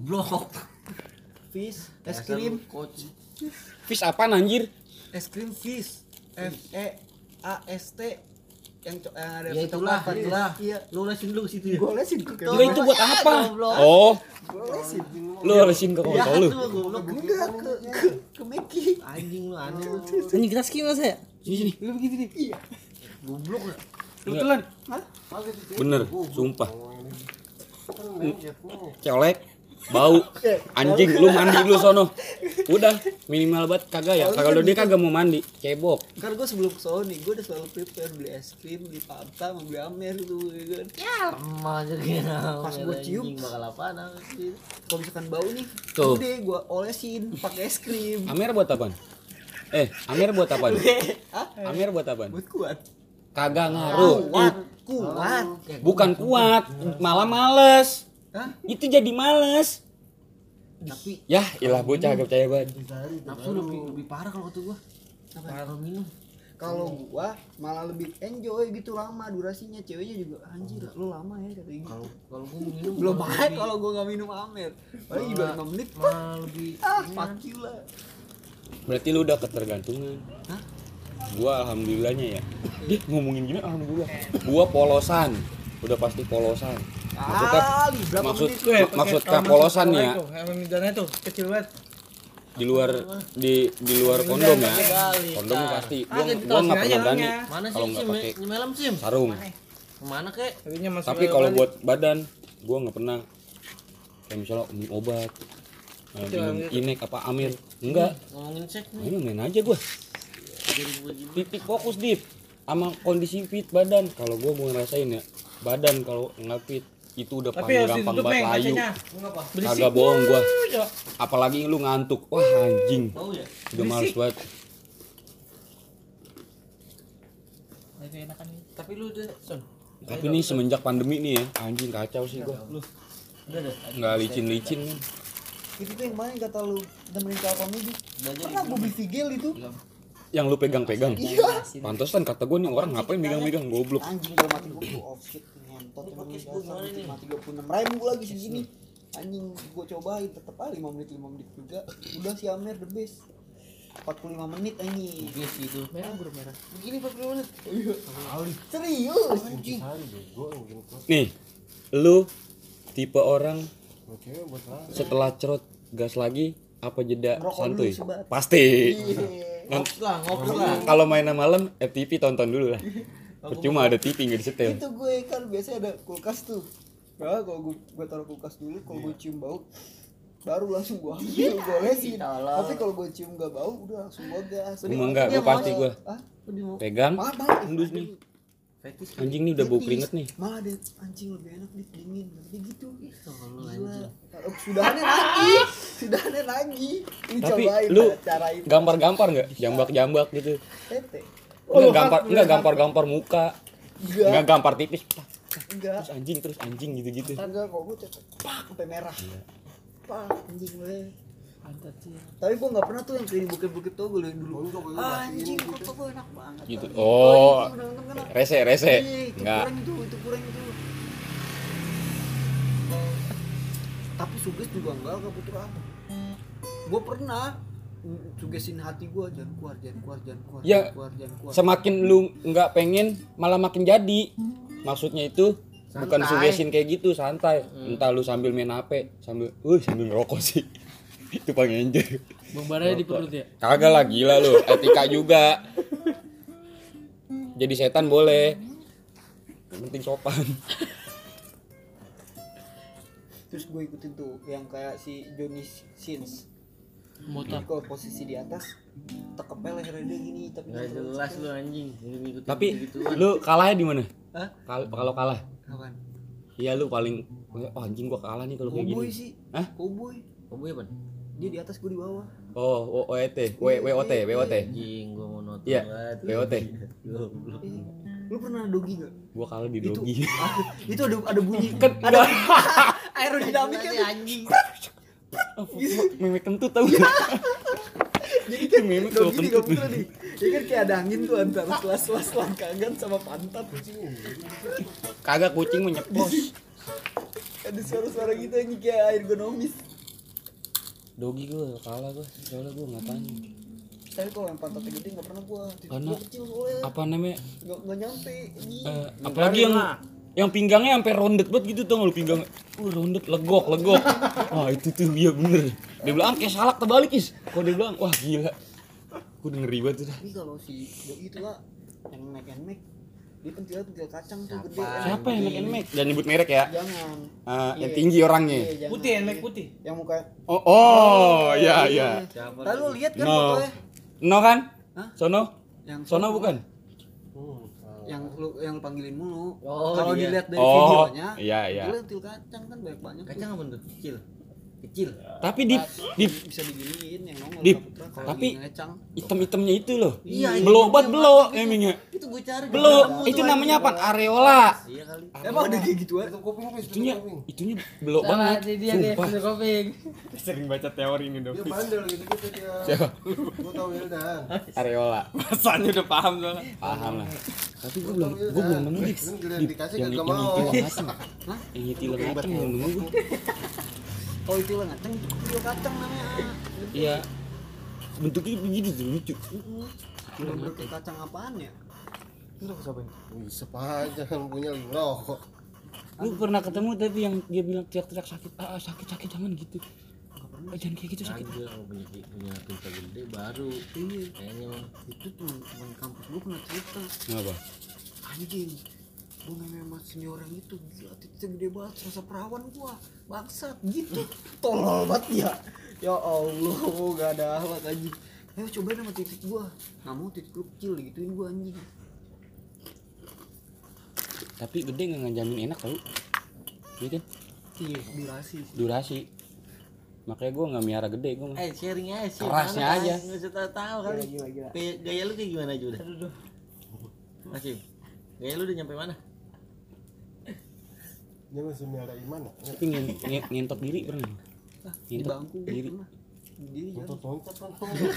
Goblok. Fish, es krim. Fish apaan anjir? Es krim fish. FEAST yang ada Ya itulah. Iya. Lu lesin dulu ke situ ya. Gue lesin ke Enggak itu buat apa? goblok. Oh, Gue lesin. lu lesin ke kontol lu. Goblok. Enggak ke Meki. Anjing lu aneh lu. Anjing kita skip Mas ya. Sini. Lu begitu nih. Iya. Goblok ya. Kebetulan. Hah? Bener, sumpah. Colek, bau, anjing, lu mandi lu sono. Udah, minimal banget kagak ya. Kalau dia kagak mau mandi, cebok. Kan gue sebelum ke Sony, gue udah selalu prepare beli es krim, beli Fanta, mau beli Amer gitu kan. Sama aja kayak Pas gua cium. bakal apaan anjing. Kalau misalkan bau nih, Tuh. udah gue olesin pakai es krim. Amer buat apaan? Amer buat apaan? Hah? Amer buat apaan? Buat kuat. Kagak ngaruh. Kuat. Bukan kuat, malah males. Hah? Itu jadi males. Tapi Yah, ilah bocah kagak percaya banget. nafsu lebih parah kalau kata gua. Kalau minum. Kalau gua malah lebih enjoy gitu lama durasinya, ceweknya juga anjir lu lama ya kata gitu. Kalau gua minum Belum malah baik lebih- kalau gua nggak minum Amer. Paling juga 5 menit. malah lebih Fuck you lah. Berarti lu udah ketergantungan. Hah? Gua alhamdulillahnya ya. Dia ngomongin gini alhamdulillah. Gua polosan. Udah pasti polosan. Berapa Maksud menit? maksud polosan nih ya. Midanya tuh kecil banget. Di luar kondom ya. Kondom pasti. Gua enggak pernah berani mana kalau sih nggak Sim? pakai Nyemelam Sim. sarung. Kemana kek? Tadinya masih Tapi kalau buat badan gua enggak pernah. Kayak misalnya minum obat. Minum Inek apa Amir. Enggak. Ngomongin seks nih. Ayo main aja gua. Titik fokus Dip sama kondisi fit badan. Kalau gua mau ngerasain ya badan kalau nggak fit itu udah tapi paling harus gampang ditutup banget Meng layu. kacanya. Kagak bohong gua. Ya. Apalagi lu ngantuk. Wah anjing. Bau ya? Udah males banget. Masih enakan nih. Tapi lu udah Son. Tapi nih semenjak pandemi nih ya anjing kacau sih gua. Udah dah. Nggak licin-licin kan. Itu tuh yang mana yang kata lu nemenin ke komedi? Pernah gue beli Figel itu. Yang lu pegang-pegang. Iya. Pantesan kata gua nih orang ngapain megang-megang goblok. Anjing gua mati gua oh shit ngentot emang ini dasar mati 26.000 lagi segini. Anjing gua cobain tetep aja 5 menit juga. Udah si Amer the best. 45 menit anjing. Yes itu. Merah bro merah. Begini 40 menit. Serius anjing. Nih, lu tipe orang setelah cerot gas lagi apa jeda Ngerokok santuy? dulu sebat. Pasti. Ngops lah, ngops lah. Kalau mainan malam FTV tonton dulu lah. Percuma ada TV nggak disetel. Itu gue kan biasanya ada kulkas tuh. Nah, kalau gue taruh kulkas dulu, kalau gue cium bau baru langsung gue ambil, gue lesin. Tapi kalau gue cium gak bau, udah langsung gue gas. Emang enggak, gue pasti gue Hah? pegang. Malah Endus nih. Fetis Anjing nih udah bau keringet nih. Malah ada anjing lebih enak nih dingin. Nanti gitu. kalau Gila. Sudahannya lagi. Sudahannya lagi. Ini Tapi cobain lu cara itu. gampar-gampar nggak? Jambak-jambak gitu. Tete. Enggak gampar-gampar muka. Enggak Enggak. gampar tipis. Enggak. Terus anjing gitu-gitu. Enggak kok gue tete. Pak sampai merah. Pak anjing gue. Pantat sih. Tapi gue nggak pernah tuh yang kayak bukit-bukit tuh gue yang dulu. Anjing kok gue enak banget. Gitu. Pak. Oh. Itu udah nonton kan? Rese. Iya, Enggak. itu kurang itu. Tapi suges juga enggak putus apa. Gue pernah sugesin hati gue jangan keluar. Ya, semakin lu nggak pengen malah makin jadi. Maksudnya itu bukan Santai. suggestion kayak gitu, santai. Entah lu sambil main HP, sambil ngerokok sih. Itu paling enjoy. Bang baranya di perut ya. Kagak lah, gila lu, etika juga. Jadi setan boleh. Yang penting sopan. Terus gue ikutin tuh yang kayak si Johnny Sins. Motor. Kalau posisi di atas tekepel lehernya dia gini tapi Gak jelas lu anjing. Ngikutin Tapi gitu-gituan. lu kalahnya di mana? Hah? Kalau kalah. Kapan? Iya lu paling oh anjing gua kalah nih kalau kayak Cowboy gini. sih. Hah? Cowboy. Kamu apa? Dia di atas gue di bawah. Oh, WOT. Anjing gua mau nonton Iya, banget. WOT. Goblok. Lu pernah dogi gak? Gua kalah di Itu dogi. itu ada bunyi Kan ada aerodinamiknya tuh. Anjing. Memek kentut tau. Jadi kan Memek dogi kalau nih kentut. kamu nih. Ya kan kayak ada angin tuh antara selas-selas langkangan sama pantat. Kagak kucing menyepos. Ada suara-suara gitu yang kayak ergonomis. Dogi gue kalah gue, soalnya gue nggak tanya. Tapi kalau yang pantatnya gede nggak pernah gua. Karena Gua kecil soalnya. apa namanya? Nggak nyampe. Apalagi yang pinggangnya sampai rounded banget gitu tuh, lu pinggang. Rounded legok. Wah, itu tuh iya bener. Dia bilang kayak salak terbalik, Is. Kok dia bilang, wah gila. Gue udah ngeri banget tuh. Tapi kalau si Doi itu lah yang make dia pentil kacang tuh gede. Siapa yang make? Jangan nyebut merek ya. Jangan. Yang tinggi orangnya. Iya, jangan. Putih, enek putih. Yang muka. Oh, iya. Lalu lu lihat kan No. fotonya? No kan? Hah? Sono? Yang Sono bukan? yang panggilin mulu. Oh, kalau iya. dilihat dari Oh, videonya, iya. itu til kacang kan banyak. Kacang apa tuh? Kecil. Tapi di Bisa diginiin yang nongol Dip, Saputra kalau tapi lagi ngecang. item-itemnya itu loh. Iya, Belok banget belok emangnya. Itu gue cari. Belok, itu namanya apa? Areola. Iya kali. Emang ada kayak gitu ya? Itunya belok banget. Dia Sumpah. koping. Sering baca teori ini dong. Dia bandel gitu dia. Siapa? Gua tahu Wildan. Areola. Masanya udah paham soalnya. Paham lah. Tapi gue belum nemu Dip. Kan giliran dikasih Yang kagak mau. tilang ngaceng. Yang tilang ngaceng belum nemu gue. Oh itu lah ngacang itu til kacang namanya. Iya. Bentuknya begini tuh lucu. Bener til kacang apaan ya? Bisa aja kan punya lagi ngerokok. Lu pernah ketemu tapi yang dia bilang teriak-teriak sakit. Sakit jangan gitu. Jangan kayak gitu sakit. Ada kalau punya pinta gede baru. Iya. Kayaknya mah. Itu teman kampus gua pernah cerita. Kenapa? Anjing, gua memang senior yang itu gila titiknya gede banget, serasa perawan gua bangsat gitu. Tolol banget ya Allah, gak ada akhlak anjing. Ayo cobain sama titik gua, nggak mau titik lu kecil digituin gua anjing. Tapi gede nggak ngejamin enak tau. Iya kan? Iya Durasi. Makanya gue nggak miara gede gue. Sharing aja sih. Kerasnya aja. Nggak usah tahu kali. Gila. Gaya lu kayak gimana aja udah? Masih. Gaya lu udah nyampe mana? Dia masih miara iman ya. Tapi ngentot diri pernah. Di bangku diri. pernah. Diri kan. Tontot kan.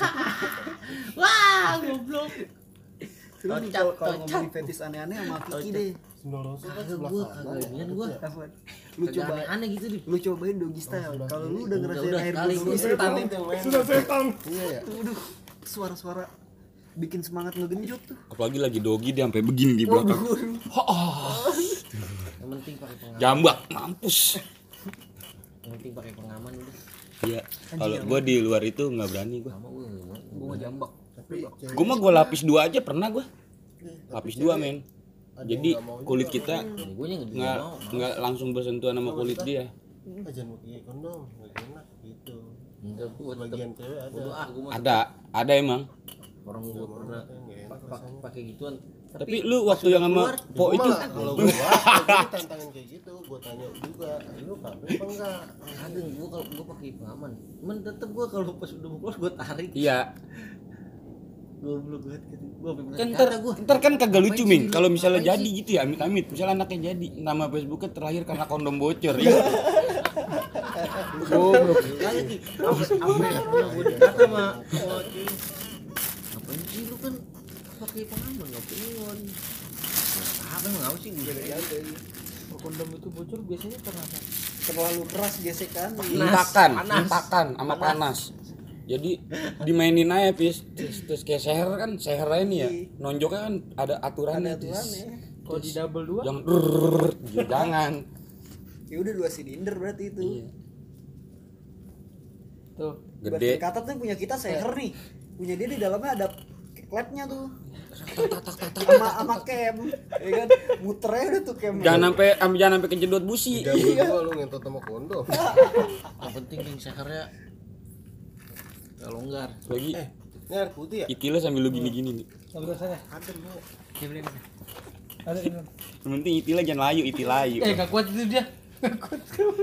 Wah, goblok. Terus nih kalau ngomongin fetis aneh-aneh sama Kiki deh. Sendorosa kan Kagak sebelah gua, kanan. kagak inian gua. Apaan? Lu Kagak coba aneh gitu di. lu cobain doggy style. Kalau lu udah ngerasain Udah, air kali doggy gua setan Sudah setan. Iya ya. tuh, suara-suara bikin semangat ngegenjot tuh. Apalagi lagi dogi dia sampai begini di belakang. Yang penting pakai pengaman. Jambak mampus. Yang penting pakai pengaman udah. Iya. Kalau gue di luar itu nggak berani gue. Sama gua. Gua mau jambak. Tapi Gue mah gue lapis 2 aja pernah gue. Lapis 2 men. Jadi kulit kita Gua nya nggak langsung bersentuhan sama kulit dia. jangan pakai kondom, nggak enak gitu. enggak gua tetep Bagian cewek ada. bodo gua mah Ada emang. orang gua pernah Nggak enak rasanya. pakai gituan. Tapi lu waktu yang sama Po Gua itu mah kalau gua tantangan kayak gitu, gua tanya juga, lu kabel apa enggak? Kagak gua kalau gua pakai pengaman. Cuman tetep gua kalau pas udah mau keluar gua tarik. iya. Goblok banget gitu. Gua sampai Kan kata gua. ntar kan kagak lucu Ming kalau misalnya jadi gitu ya amit-amit misalnya anaknya jadi nama Facebooknya terlahir karena kondom bocor ya. Goblok. Kagak sih. Sampai pernah gua dikata sama cuy. Ngapain sih lu kan pakai pengaman ngapain? Apa enggak sih gua Kondom itu bocor biasanya karena apa? Terlalu keras gesekan. Intakan sama panas. Jadi dimainin aja terus kayak seher ini ya. Nonjoknya kan ada aturannya. Kalau di double 2 Yang jangan. Ya udah 2 silinder berarti itu. Iya. tuh. Gede. Kata tuh punya kita seher nih. Punya dia di dalamnya ada klepnya tuh. Sama cam. Ya kan muternya udah tuh cam. Jangan sampai kejedot busi. Gua lu ngentot sama kondom. yang penting yang sehernya enggak longgar. Lagi Ini air putih ya? itilnya sambil lu gini-gini nih. Ambil sana. Ada lu. Ada ini. Yang penting itilnya jangan layu, layu. Enggak kuat itu dia. Enggak kuat.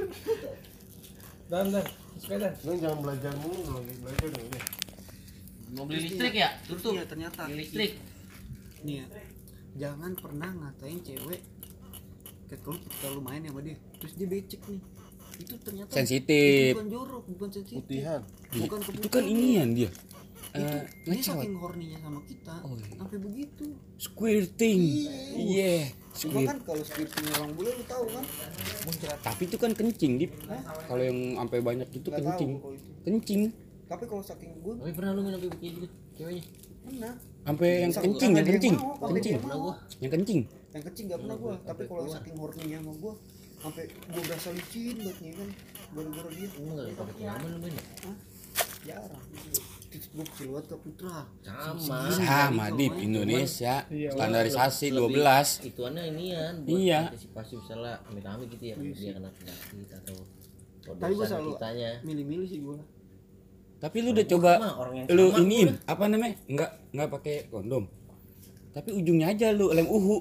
Dan sepeda. Lu jangan belajar mulu lu lagi belajar nih. Mau beli listrik ya? Tutup. Iya ternyata Beli listrik. nih ya. Jangan pernah ngatain cewek ketika lu main sama dia terus dia becek nih. Itu ternyata Sensitif. itu bukan jorok, bukan sensitif. Putihan. Bukan Itu kan inian dia. Dia ngecot. saking horninya sama kita Oh, iya. sampai begitu. Squirting. Iya, Cuma kan kalau squirting orang bule lu tahu kan? Muncrat. Tapi itu kan kencing, Dip. Kalau yang sampai banyak itu Nggak kencing. tahu kalau itu. Kencing. Tapi kalau saking gue Tapi pernah lu minum kayak gitu ceweknya? pernah. Sampai yang Saking kencing, yang dia kencing. mau, sampai Kencing. dia mau. Yang kencing. Yang kecil nggak pernah gue. Tapi kalau saking horninya sama gue sampai gue berasa licin banget nih kan. Gara-gara dia. Enggak pakai pengaman lu main ya? Jarang. Terus gue kecil banget ke Putra. Sama Dip, Indonesia. Standarisasi 12. Ituannya inian buat Iya. antisipasi misalnya amit-amit gitu ya dia kena penyakit atau Tapi gue selalu kitanya. milih-milih sih gue. Tapi lu udah coba Mah orang yang lu sama iniin apa namanya? Enggak pakai kondom. Tapi ujungnya aja lu lem uhu.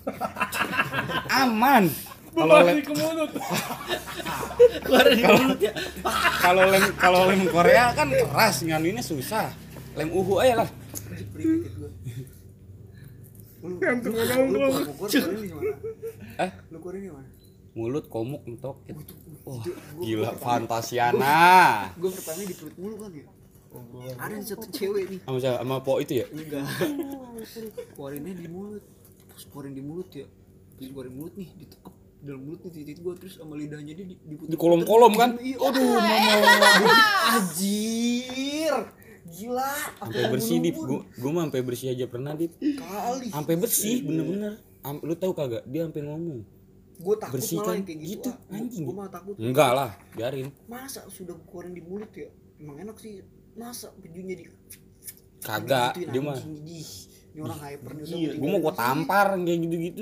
Aman. Kalau lem kalau lem Korea kan keras, nganuinnya susah. Lem uhu aja lah. Lu keluarin di mana? Lu keluarin di mana? Mulut komuk mentok. Wah, gila fantasiana. Gue pertama di perut mulu kan ya. Ada satu cewek nih. Sama siapa? Sama Po itu ya? Enggak. Keluarinnya di mulut. Terus keluarin di mulut ya. Terus keluarin mulut nih, ditekep dalam mulut nih titik gua terus sama lidahnya dia diputer. Di kolom-kolom kan? Aduh, anjir. Gila. Sampai bersih Dip. Gua mah sampai bersih aja pernah Dip. Kali. Sampai bersih bener-bener. Lu tahu kagak? Dia sampai ngomong. Gue takut Bersihkan malah yang kayak gitu. gitu, anjing. Gue malah takut. Enggak lah, biarin. Masa sudah keluarin di mulut ya? Emang enak sih. Masa pejunya di Kagak, digituin, dia mah. anjing, ih. Ini orang hyper nih. Iya, gua mau gua tampar kayak gitu-gitu.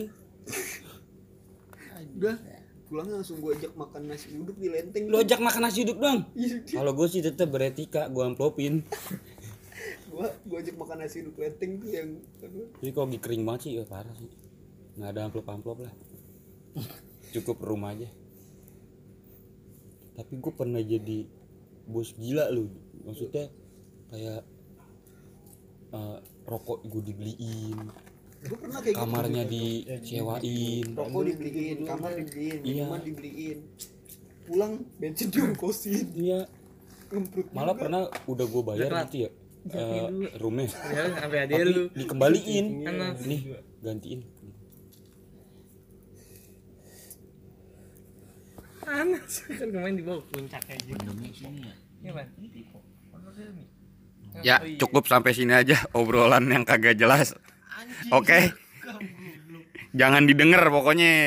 Udah pulangnya langsung gue ajak makan nasi uduk di lenteng. Lu ajak makan nasi uduk dong. Iya, Kalau gua sih tetap beretika, gua amplopin. gue ajak makan nasi uduk lenteng tuh yang Jadi kalau lagi kering banget sih, ya parah sih. Nggak ada amplop lah. Cukup rumah aja. Tapi gue pernah jadi bos gila lu. Maksudnya kayak rokok gue dibeliin, gue pernah kayak kamarnya disewain. rokok dibeliin, kamar dibeliin, Iya. minuman dibeliin, pulang bensin diongkosin, Iya. ngemprut Malah juga. pernah udah gue bayar gitu ya. Roomnya. Sampai ada Tapi lu. dikembaliin. Nih, gantiin. Panas kan kemarin di bawah puncak kayak gitu. Indonesia nih ya. Iya, Bang. Ya, cukup sampai sini aja obrolan yang kagak jelas. Oke. Jangan didengar pokoknya.